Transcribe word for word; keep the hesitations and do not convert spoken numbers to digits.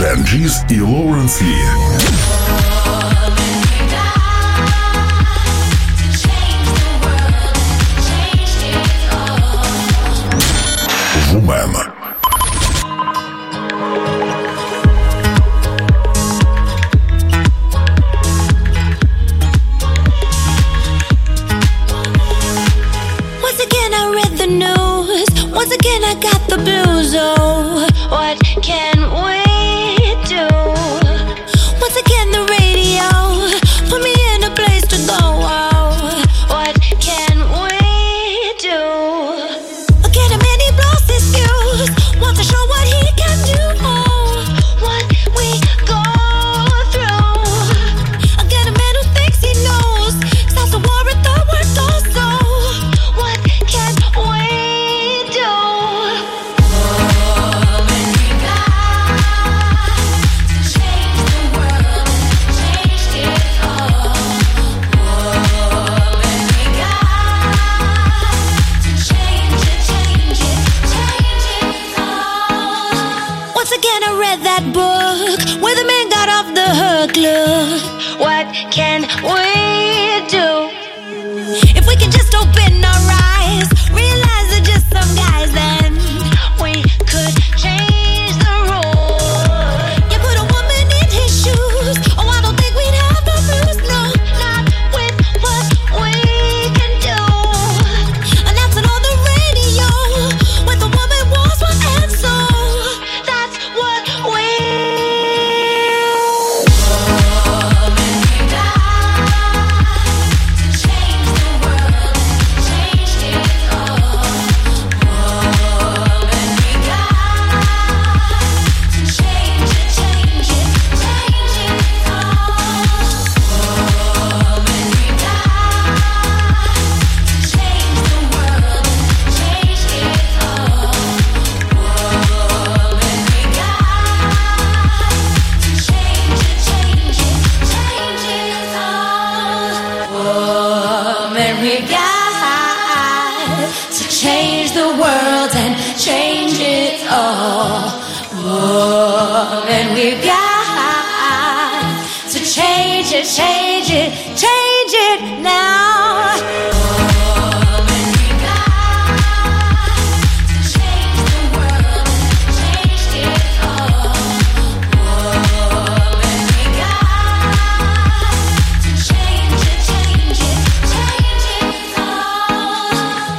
Дженджис и Лоуренс Ли. Woman. Once again I got the blues, oh, what can we do? Once again the radio put me in a place to go, oh, what can we do? Again a man, he blows his fuse, wants to show what he can do, oh, what we go through. Again a man who thinks he knows, starts to war at the word also, what can we do? That book where the man got off the hook. Look, what can we do? If we can just open our eyes, realize they're just some guys, then we could change the rules. You put a woman in his shoes, oh, I don't think we'd have the blues. No, not with what we can do. Announcing on the radio what the woman wants, what and so that's what we. Woman, we've got to change it, change it, change